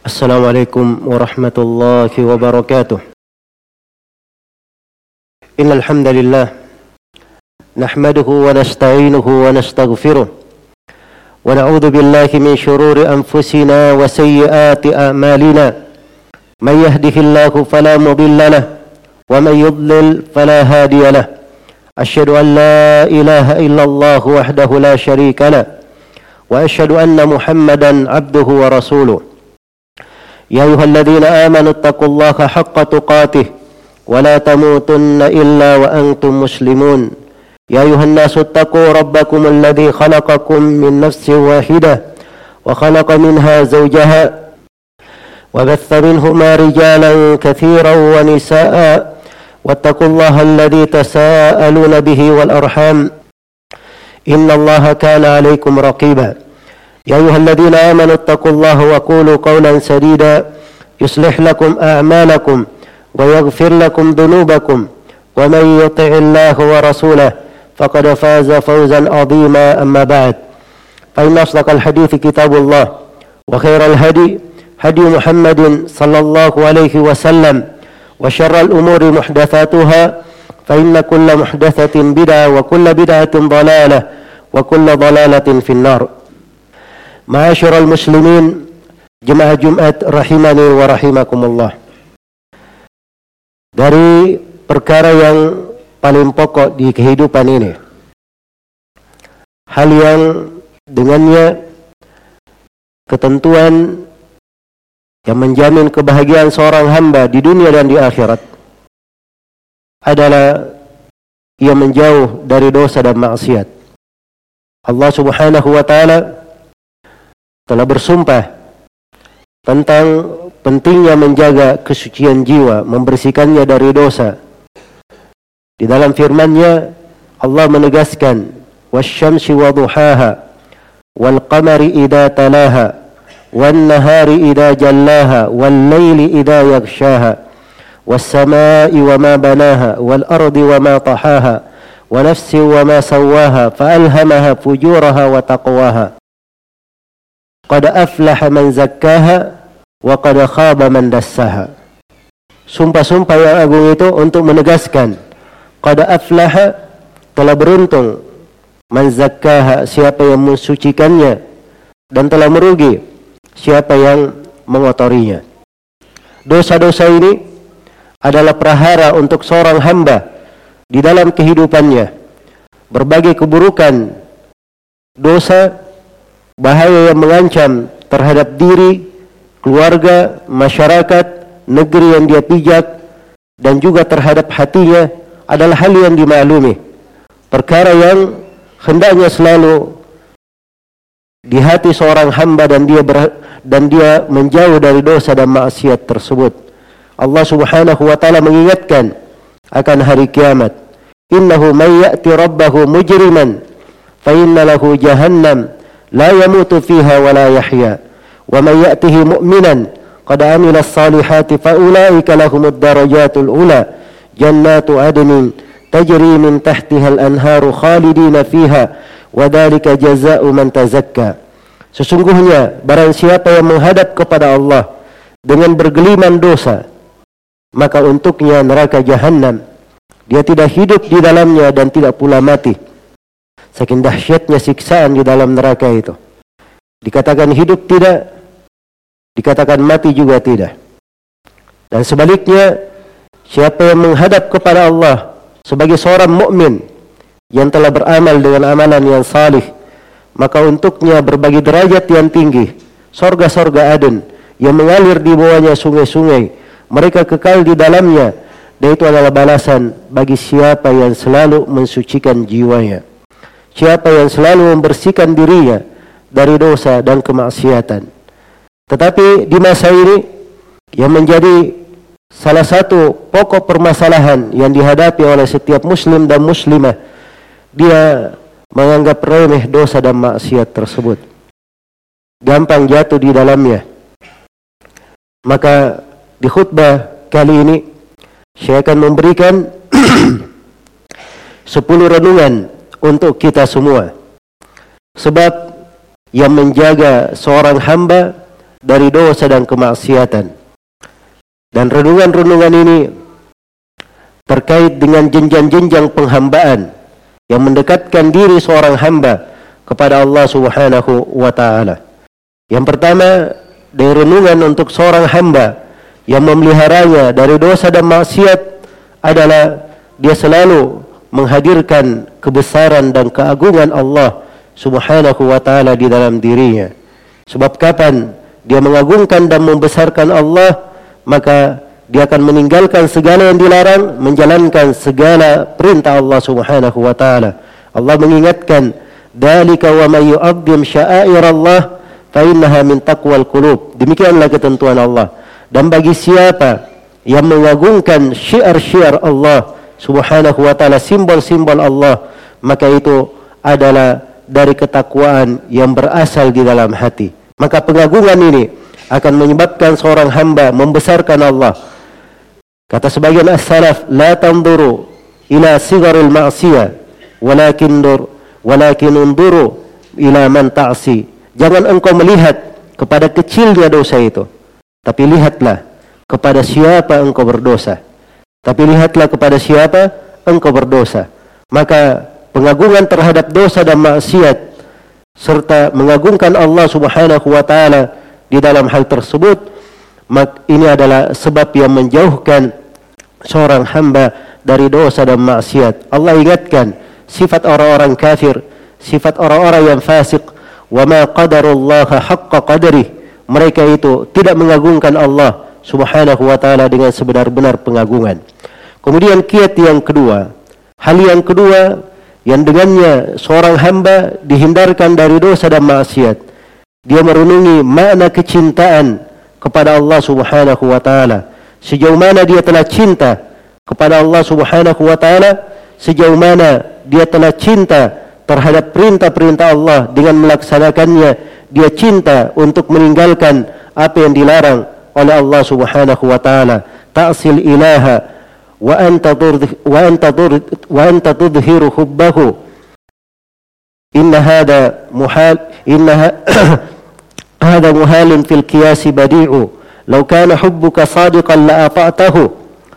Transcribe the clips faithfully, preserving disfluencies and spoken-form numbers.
Assalamualaikum warahmatullahi wabarakatuh. Innal hamdalillah nahmaduhu wa nasta'inuhu wa nastaghfiruh wa na'udzu billahi min shururi anfusina wa sayyiati a'malina. May yahdihillahu fala mudilla lahu wa may yudlil fala hadiya lahu. Asyhadu an la ilaha illallah wahdahu la syarika lahu wa asyhadu anna Muhammadan 'abduhu wa rasuluh. Ya ayyuhalladzina amanu taqullaha haqqa tuqatih wa la tamutunna illa wa antum muslimun. Ya ayyuhan nasu taqu rabbakum alladzi khalaqakum min nafsin wahidah wa khalaqa minha zawjaha wa batha minhuma rijalan katsiran wa nisaa'a wattaqullaha alladzi tasaaluna bihi wal arham innallaha kana 'alaykum raqiba. يا أيها الذين آمنوا اتقوا الله وقولوا قولا سديدا يصلح لكم أعمالكم ويغفر لكم ذنوبكم ومن يطع الله ورسوله فقد فاز فوزا عظيما. أما بعد فإن أصدق الحديث كتاب الله وخير الهدي هدي محمد صلى الله عليه وسلم وشر الأمور محدثاتها فإن كل محدثة بدعة وكل بدعة ضلالة وكل ضلالة في النار. Ma'asyiral muslimin, jemaah Jumat rahimani wa rahimakumullah. Dari perkara yang paling pokok di kehidupan ini, hal yang dengannya ketentuan yang menjamin kebahagiaan seorang hamba di dunia dan di akhirat adalah ia menjauh dari dosa dan maksiat. Allah Subhanahu wa taala telah bersumpah tentang pentingnya menjaga kesucian jiwa, membersihkannya dari dosa. Di dalam firman-Nya Allah menegaskan, "Wasyamsi waduhaha wal qamari idza talaha wan nahari idza jallaha wal laili idza yaghshaha was samaa'i wama banaha wal ardi wama tahaha wa nafsin wama sawwaha fa alhamaha fujuraha wa taqwaha. Qad aflaha man zakkaha wa qad khaba man dassaha." Sumpah-sumpah yang agung itu untuk menegaskan, qad aflaha, telah beruntung, man zakkaha, siapa yang mensucikannya, dan telah merugi siapa yang mengotorinya. Dosa-dosa ini adalah prahara untuk seorang hamba di dalam kehidupannya. Berbagai keburukan dosa, bahaya yang mengancam terhadap diri, keluarga, masyarakat, negeri yang dia pijak, dan juga terhadap hatinya adalah hal yang dimaklumi. Perkara yang hendaknya selalu di hati seorang hamba dan dia ber, dan dia menjauh dari dosa dan maksiat tersebut. Allah Subhanahu wa taala mengingatkan akan hari kiamat. Innahu may ya'ti rabbahu mujriman fa inna lahu jahannam la yamutu fiha wa la yahya wa man ya'tihi mu'minan qad amila as-salihati fa ulaika lahumud darajatul ula jannatu adnin tajri min tahtiha al-anharu khalidina fiha wa dzalika jazaa'u man tazakka. Sesungguhnya barang siapa yang menghadap kepada Allah dengan bergeliman dosa, maka untuknya neraka jahanam, dia tidak hidup di dalamnya dan tidak pula mati. Saking dahsyatnya siksaan di dalam neraka itu. Dikatakan hidup tidak, dikatakan mati juga tidak. Dan sebaliknya, siapa yang menghadap kepada Allah sebagai seorang mukmin yang telah beramal dengan amalan yang salih, maka untuknya berbagai derajat yang tinggi, sorga-sorga Aden yang mengalir di bawahnya sungai-sungai, mereka kekal di dalamnya, dan itu adalah balasan bagi siapa yang selalu mensucikan jiwanya, siapa yang selalu membersihkan dirinya dari dosa dan kemaksiatan. Tetapi di masa ini yang menjadi salah satu pokok permasalahan yang dihadapi oleh setiap muslim dan muslimah, dia menganggap remeh dosa dan maksiat tersebut, gampang jatuh di dalamnya. Maka di khutbah kali ini saya akan memberikan sepuluh renungan untuk kita semua. Sebab yang menjaga seorang hamba dari dosa dan kemaksiatan. Dan renungan-renungan ini terkait dengan jenjang-jenjang penghambaan yang mendekatkan diri seorang hamba kepada Allah Subhanahu wa taala. Yang pertama, dari renungan untuk seorang hamba yang memeliharanya dari dosa dan maksiat adalah dia selalu menghadirkan kebesaran dan keagungan Allah Subhanahu wa taala di dalam dirinya. Sebab kapan dia mengagungkan dan membesarkan Allah, maka dia akan meninggalkan segala yang dilarang, menjalankan segala perintah Allah Subhanahu wa taala. Allah mengingatkan, "Dzalika wa may yu'azzim sya'airallah fa innaha min taqwal qulub." Demikianlah ketentuan Allah. Dan bagi siapa yang mengagungkan syiar-syiar Allah Subhanahu wa taala, simbol-simbol Allah, maka itu adalah dari ketakwaan yang berasal di dalam hati. Maka pengagungan ini akan menyebabkan seorang hamba membesarkan Allah. Kata sebagian as-salaf, la tanzuru ila sigaril ma'siyah walakin dur walakin unduru ila man ta'si. Jangan engkau melihat kepada kecilnya dosa itu, tapi lihatlah kepada siapa engkau berdosa. Tapi lihatlah kepada siapa engkau berdosa. Maka pengagungan terhadap dosa dan maksiat serta mengagungkan Allah Subhanahu wa taala di dalam hal tersebut, maka ini adalah sebab yang menjauhkan seorang hamba dari dosa dan maksiat. Allah ingatkan sifat orang-orang kafir, sifat orang-orang yang fasik, wa ma qadarullaha haqqa qadrih. Mereka itu tidak mengagungkan Allah Subhanahu wa taala dengan sebenar-benar pengagungan. Kemudian kiat yang kedua, hal yang kedua yang dengannya seorang hamba dihindarkan dari dosa dan maksiat, dia merenungi makna kecintaan kepada Allah Subhanahu wa taala. Sejauh mana dia telah cinta kepada Allah Subhanahu wa taala, sejauh mana dia telah cinta terhadap perintah-perintah Allah dengan melaksanakannya, dia cinta untuk meninggalkan apa yang dilarang oleh Allah Subhanahu wa taala. Ta'sil ilaha wa anta wa anta wa anta tudhiru hubbahu. Inna hada muhal inna hada muhalun fil qiyas badi'u. Law kana hubbuka sadiqan la ata'tahu.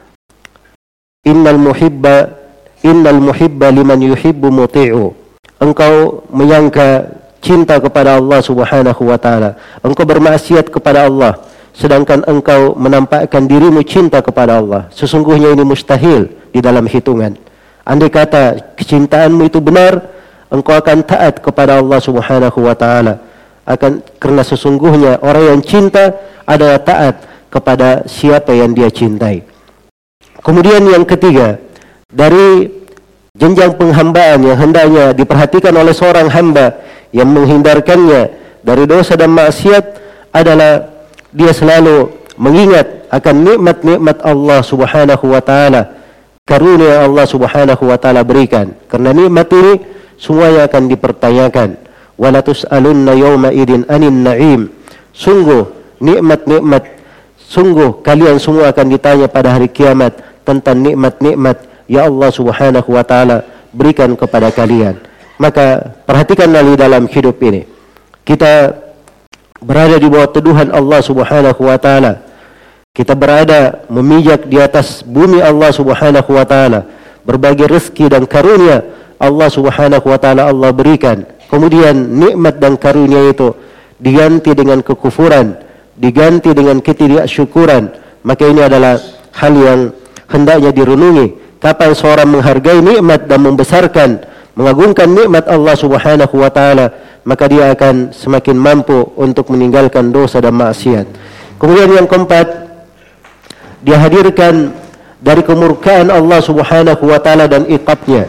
Innal muhibba innal muhibba liman yuhibbu muti'u. Engkau menyangka cinta kepada Allah Subhanahu wa taala, engkau bermaksiat kepada Allah, sedangkan engkau menampakkan dirimu cinta kepada Allah. Sesungguhnya ini mustahil di dalam hitungan. Andai kata kecintaanmu itu benar, engkau akan taat kepada Allah Subhanahu wa taala. Akan karena sesungguhnya orang yang cinta adalah taat kepada siapa yang dia cintai. Kemudian yang ketiga, dari jenjang penghambaan yang hendaknya diperhatikan oleh seorang hamba yang menghindarkannya dari dosa dan maksiat adalah dia selalu mengingat akan nikmat-nikmat Allah Subhanahu wa taala, karunia Allah Subhanahu wa taala berikan. Karena nikmat ini semuanya akan dipertanyakan. Wala tus'alunna yawma idin anin na'im. Sungguh nikmat-nikmat, sungguh kalian semua akan ditanya pada hari kiamat tentang nikmat-nikmat ya Allah Subhanahu wa taala berikan kepada kalian. Maka perhatikanlah di dalam hidup ini, kita berada di bawah teduhan Allah Subhanahu wa taala. Kita berada memijak di atas bumi Allah Subhanahu wa taala. Berbagai rezeki dan karunia Allah Subhanahu wa taala Allah berikan. Kemudian nikmat dan karunia itu diganti dengan kekufuran, diganti dengan ketidaksyukuran. Maka ini adalah hal yang hendaknya direnungi. Kapan seorang menghargai nikmat dan membesarkan, mengagungkan nikmat Allah Subhanahu wa taala, maka dia akan semakin mampu untuk meninggalkan dosa dan maksiat. Kemudian yang keempat, dia hadirkan dari kemurkaan Allah Subhanahu wa taala dan iqabnya.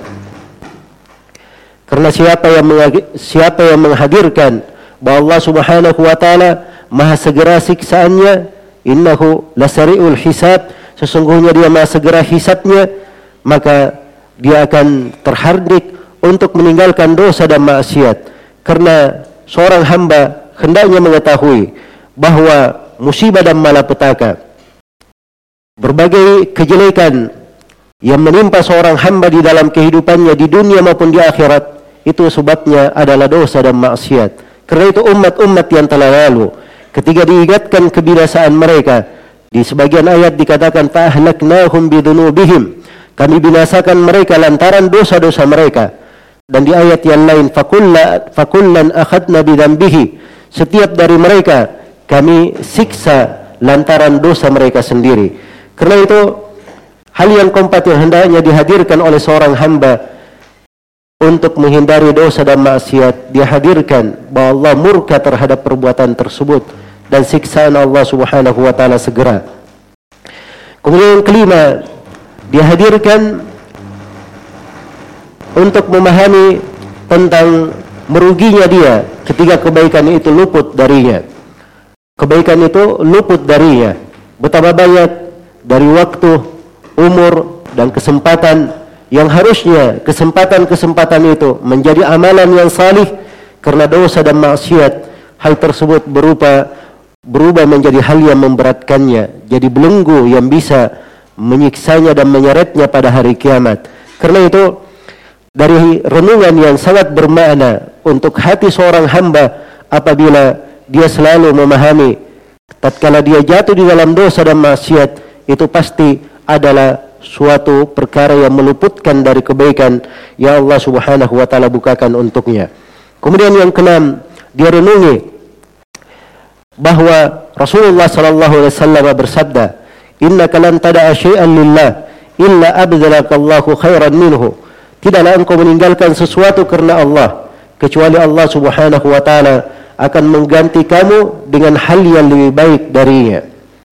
Karena siapa yang siapa yang menghadirkan bahwa Allah Subhanahu wa taala maha segera siksaannya, innahu lasari'ul hisab, sesungguhnya dia maha segera hisabnya, maka dia akan terhardik untuk meninggalkan dosa dan maksiat. Karena seorang hamba hendaknya mengetahui bahwa musibah dan malapetaka, berbagai kejelekan yang menimpa seorang hamba di dalam kehidupannya di dunia maupun di akhirat, itu sebabnya adalah dosa dan maksiat. Karena itu umat-umat yang telah lalu, ketika diingatkan kebinasaan mereka. Di sebagian ayat dikatakan fa'ahlaknahum bidunubihim, kami binasakan mereka lantaran dosa-dosa mereka. Dan di ayat yang lain fakulla fakullan akhadna bidzambihi, setiap dari mereka kami siksa lantaran dosa mereka sendiri. Karena itu hal yang keempat yang hendaknya dihadirkan oleh seorang hamba untuk menghindari dosa dan maksiat, dihadirkan bahwa Allah murka terhadap perbuatan tersebut dan siksaan Allah Subhanahu wa taala segera. Kemudian yang kelima, dihadirkan untuk memahami tentang meruginya dia ketika kebaikan itu luput darinya. Kebaikan itu luput darinya. Betapa banyak dari waktu, umur dan kesempatan yang harusnya kesempatan-kesempatan itu menjadi amalan yang salih, karena dosa dan maksiat hal tersebut berupa berubah menjadi hal yang memberatkannya, jadi belenggu yang bisa menyiksanya dan menyeretnya pada hari kiamat. Karena itu dari renungan yang sangat bermakna untuk hati seorang hamba apabila dia selalu memahami tatkala dia jatuh di dalam dosa dan maksiat, itu pasti adalah suatu perkara yang meluputkan dari kebaikan yang Allah Subhanahu wa taala bukakan untuknya. Kemudian yang keenam, dia renungi bahwa Rasulullah sallallahu alaihi wasallam bersabda, "Innaka lan tada'a syai'an lillah illa abdalakallahu khairan minhu." Tidaklah engkau meninggalkan sesuatu karena Allah kecuali Allah Subhanahu wa taala akan mengganti kamu dengan hal yang lebih baik darinya.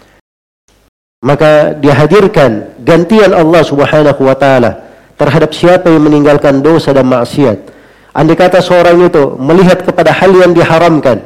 Maka dihadirkan gantian Allah Subhanahu wa taala terhadap siapa yang meninggalkan dosa dan maksiat. Andai kata seorang itu melihat kepada hal yang diharamkan,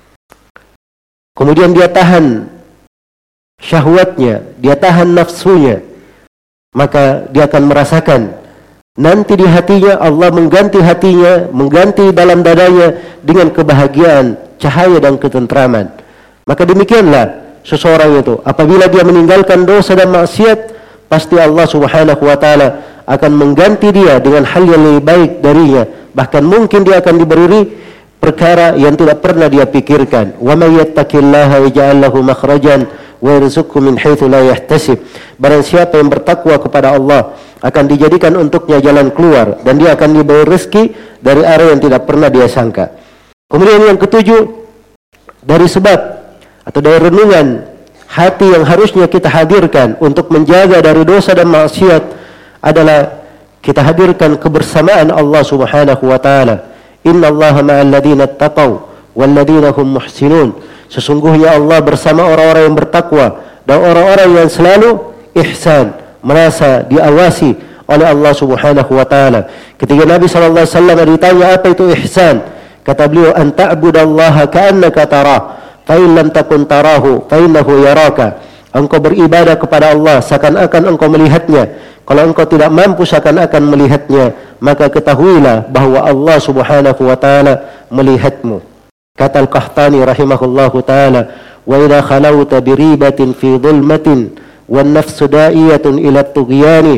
kemudian dia tahan syahwatnya, dia tahan nafsunya, maka dia akan merasakan nanti di hatinya Allah mengganti hatinya, mengganti dalam dadanya dengan kebahagiaan, cahaya dan ketentraman. Maka demikianlah seseorang itu apabila dia meninggalkan dosa dan maksiat, pasti Allah Subhanahu wa taala akan mengganti dia dengan hal yang lebih baik darinya. Bahkan mungkin dia akan diberi perkara yang tidak pernah dia pikirkan. Wa may yattaqillaha yaj'al lahu makhrajan wa yarzuqhu min haitsu la yahtasib. Barang siapa yang bertakwa kepada Allah, akan dijadikan untuknya jalan keluar dan dia akan diberi rezeki dari arah yang tidak pernah dia sangka. Kemudian yang ketujuh, dari sebab atau dari renungan hati yang harusnya kita hadirkan untuk menjaga dari dosa dan maksiat adalah kita hadirkan kebersamaan Allah Subhanahu wa taala. Innallaha ma'al ladzina taqaw wal ladzina hum muhsinun. Sesungguhnya Allah bersama orang-orang yang bertakwa dan orang-orang yang selalu ihsan, merasa diawasi oleh Allah Subhanahu wa taala. Ketika Nabi sallallahu alaihi wasallam ditanya apa itu ihsan, kata beliau, an ta'budallaha ka'annaka tarah, fa in lam takun tarahu fa innahu yaraka. Engkau beribadah kepada Allah seakan-akan engkau melihatnya. Kalau engkau tidak mampu seakan-akan melihatnya, maka ketahuilah bahwa Allah Subhanahu wa taala melihatmu. Kata Al-Qahtani rahimahullahu taala, wa idza khalawta bi ribatin fi dhulmatin wan nafsu da'iyatun ila at-tughyani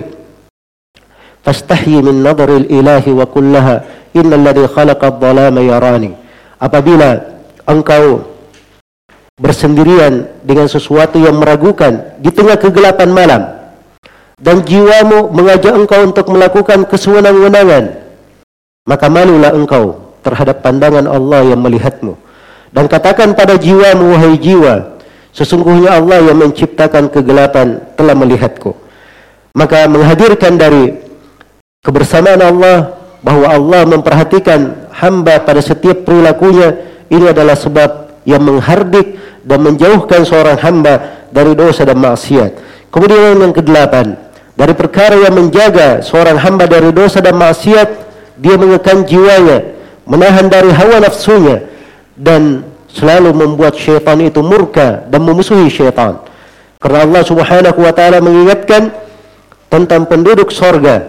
fastahyi min nadril ilahi wa kullaha innal ladzi khalaqa adh-dhalama yarani. Apabila engkau bersendirian dengan sesuatu yang meragukan di tengah kegelapan malam dan jiwamu mengajak engkau untuk melakukan kesewenang-wenangan, maka malulah engkau terhadap pandangan Allah yang melihatmu, dan katakan pada jiwamu, wahai jiwa, sesungguhnya Allah yang menciptakan kegelapan telah melihatku. Maka menghadirkan dari kebersamaan Allah, bahwa Allah memperhatikan hamba pada setiap perilakunya, ini adalah sebab yang menghardik dan menjauhkan seorang hamba dari dosa dan maksiat. Kemudian yang kedelapan, dari perkara yang menjaga seorang hamba dari dosa dan maksiat, dia mengekang jiwanya, menahan dari hawa nafsunya, dan selalu membuat syaitan itu murka dan memusuhi syaitan. Karena Allah Subhanahu wa taala mengingatkan tentang penduduk sorga.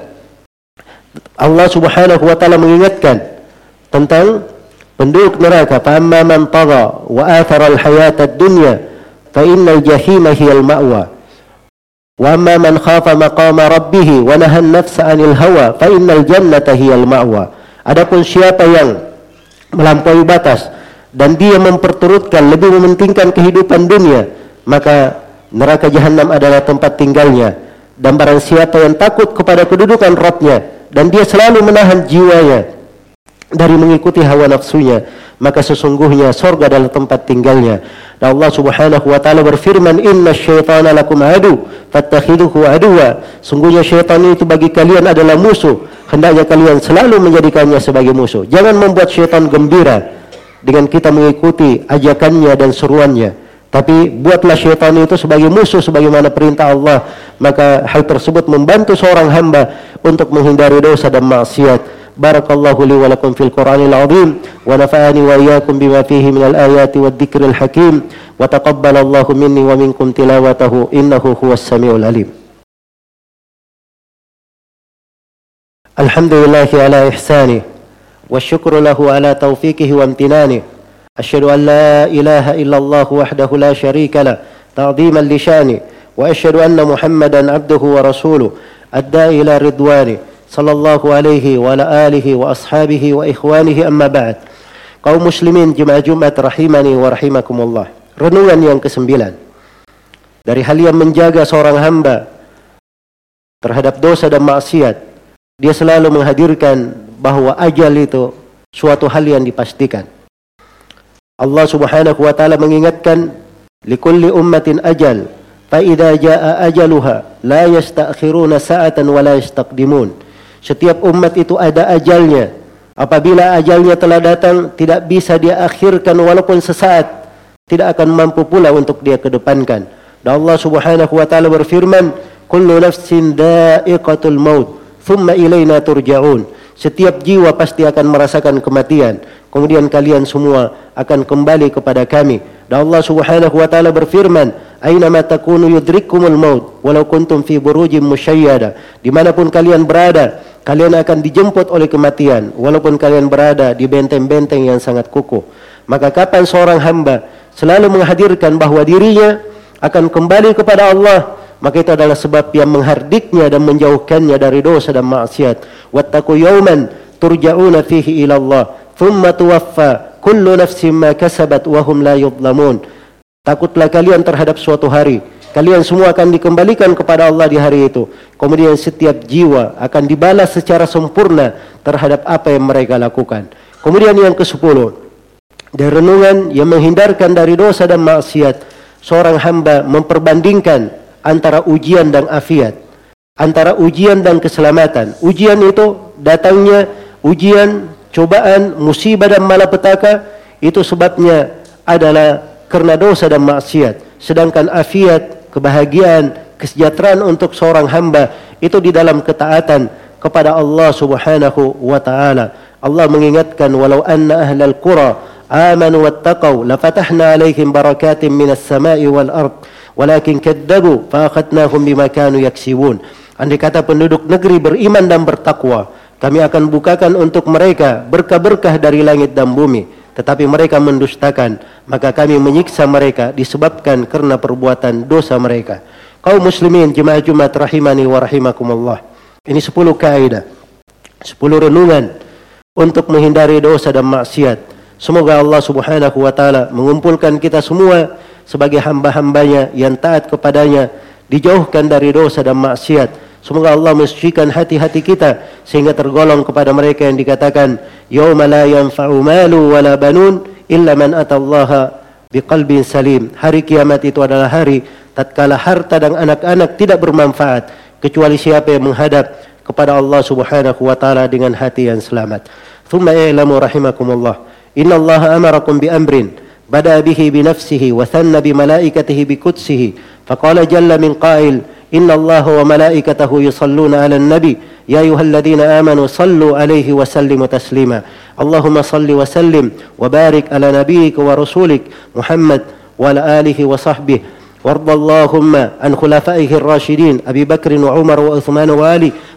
Allah Subhanahu wa taala mengingatkan tentang penduduk neraka, fa amma man tagha wa athara al-hayata ad-dunya fa innal jahima hiyal ma'wa wa amma man khafa maqama rabbih wa nahaa an-nafsa 'anil hawa fa innal jannata hiyal ma'wa. Adapun siapa yang melampaui batas dan dia memperturutkan, lebih mementingkan kehidupan dunia, maka neraka jahanam adalah tempat tinggalnya. Dan barang siapa yang takut kepada kedudukan Rabbnya dan dia selalu menahan jiwanya dari mengikuti hawa nafsunya, maka sesungguhnya surga adalah tempat tinggalnya. Dan Allah Subhanahu wa taala berfirman, "Inna syaitana lakum adu, fattakhidhuhu aduwa." Sungguhnya syaitan itu bagi kalian adalah musuh, hendaknya kalian selalu menjadikannya sebagai musuh. Jangan membuat syaitan gembira dengan kita mengikuti ajakannya dan seruannya, tapi buatlah syaitan itu sebagai musuh sebagaimana perintah Allah. Maka hal tersebut membantu seorang hamba untuk menghindari dosa dan maksiat. Barakallahu li wa lakum fil Qur'anil azim wa nafa'ani wa iyyakum bima fihi minal ayati wad dzikril hakim wa taqabbalallahu minni wa minkum tilawatahu innahu huwas samiul alim. Alhamdulillahi ala ihsani wa syukru lahu ala taufiqihi wa amtinani. Asyhadu an la ilaha illallah wahdahu la syarika lah ta'dhiman li sya'ni wa asyhadu anna Muhammadan abduhu wa rasuluh adda'i ila ridwani sallallahu alaihi wa ala alihi wa ashabihi wa ikhwanihi amma ba'd. Kaum muslimin jemaah Jumat rahimani wa rahimakumullah. Renungan yang kesembilan. Dari hal yang menjaga seorang hamba terhadap dosa dan maksiat, dia selalu menghadirkan bahwa ajal itu suatu hal yang dipastikan. Allah Subhanahu wa taala mengingatkan, likulli ummatin ajal, fa idza jaa ajaluha la yasta'khiruna sa'atan wa la yastaqdimun. Setiap umat itu ada ajalnya. Apabila ajalnya telah datang, tidak bisa dia akhirkan walaupun sesaat, tidak akan mampu pula untuk dia kedepankan. Dan Allah Subhanahu wa taala berfirman, kullu nafsin da'iqatul maut, thumma ilaina turja'un. Setiap jiwa pasti akan merasakan kematian, kemudian kalian semua akan kembali kepada kami. Dan Allah Subhanahu wa taala berfirman, "Ainama takunu yudrikkumul maut walau kuntum fi burujin musyayyada." Dimanapun kalian berada, kalian akan dijemput oleh kematian walaupun kalian berada di benteng-benteng yang sangat kukuh. Maka kapan seorang hamba selalu menghadirkan bahwa dirinya akan kembali kepada Allah, maka itu adalah sebab yang menghardiknya dan menjauhkannya dari dosa dan maksiat. Wattaqu yawman turja'una fihi ila Allah, thumma tuwaffa kullu nafsin ma kasabat wa hum la yudhlamun. Takutlah kalian terhadap suatu hari, kalian semua akan dikembalikan kepada Allah di hari itu. Kemudian setiap jiwa akan dibalas secara sempurna terhadap apa yang mereka lakukan. Kemudian yang kesepuluh, dari renungan yang menghindarkan dari dosa dan maksiat, seorang hamba memperbandingkan antara ujian dan afiat, antara ujian dan keselamatan. Ujian itu datangnya, ujian, cobaan, musibah dan malapetaka, itu sebabnya adalah karena dosa dan maksiat. Sedangkan afiat, kebahagiaan, kesejahteraan untuk seorang hamba itu di dalam ketaatan kepada Allah Subhanahu wa taala. Allah mengingatkan, walau anna ahlal qura amanu wattaqau lafatahna alaihim barakatin minas sama'i wal ard walakin kadzabu fa akhadnahum bima kanu yaksibun. Andai kata penduduk negeri beriman dan bertakwa, kami akan bukakan untuk mereka berkah-berkah dari langit dan bumi, tetapi mereka mendustakan, maka kami menyiksa mereka disebabkan karena perbuatan dosa mereka. Kaum muslimin jemaah Jumat rahimani wa rahimakumullah. Ini sepuluh kaidah, sepuluh renungan untuk menghindari dosa dan maksiat. Semoga Allah Subhanahu wa taala mengumpulkan kita semua sebagai hamba-hambanya yang taat kepadanya, dijauhkan dari dosa dan maksiat. Semoga Allah mensucikan hati-hati kita sehingga tergolong kepada mereka yang dikatakan yauma la yanfa'u malu wala banun illa man atallaha biqalbin salim. Hari kiamat itu adalah hari tatkala harta dan anak-anak tidak bermanfaat kecuali siapa yang menghadap kepada Allah Subhanahu wa taala dengan hati yang selamat. Thumma i'lamu rahimakumullah, innallaha amarakum bi amrin bada bihi bi nafsihi wa thanna bi malaikatihi bi qudsihi faqala jalla min qail innallaha wa malaikatahu yusalluna 'alan nabi ya ayyuhalladzina amanu sallu 'alaihi wa sallimu taslima. Allahumma salli wa sallim wa barik ala nabiyyika wa rasulik Muhammad wa ala alihi wa sahbihi warḍa Allahumma an khulafaihi ar-rasyidin Abi Bakr wa Umar wa Uthman wa Ali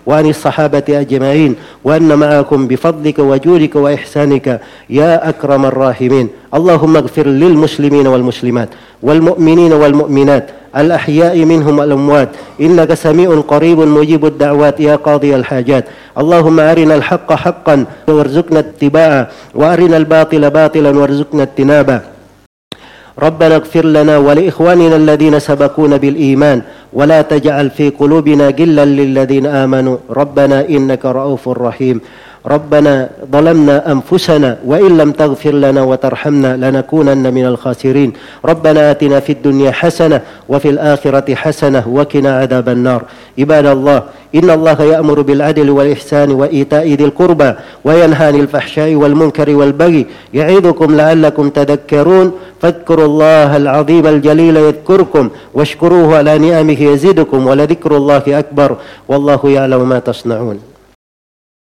وعن الصحابة أجمعين، وأن معكم بفضلك وجودك وإحسانك يا أكرم الراحمين. اللهم اغفر للمسلمين والمسلمات والمؤمنين والمؤمنات الأحياء منهم والأموات، إنك سميع قريب مجيب الدعوات يا قاضي الحاجات. اللهم أرنا الحق حقا وارزقنا اتباعه، وأرنا الباطل باطلا وارزقنا اجتنابه. ربنا اغفر لنا ولإخواننا الذين سبقونا بالإيمان، ولا تجعل في قلوبنا غلا للذين آمنوا ربنا إنك رؤوف رحيم. ربنا ظلمنا أنفسنا وإن لم تغفر لنا وترحمنا لنكونن من الخاسرين. ربنا آتنا في الدنيا حسنة وفي الآخرة حسنة وقنا عذاب النار. عباد الله، إن الله يأمر بالعدل والإحسان وإيتاء ذي القربى وينهى عن الفحشاء والمنكر والبغي يعظكم لعلكم تذكرون. فاذكروا الله العظيم الجليل يذكركم واشكروه على نعمه يزدكم ولذكر الله أكبر والله يعلم ما تصنعون.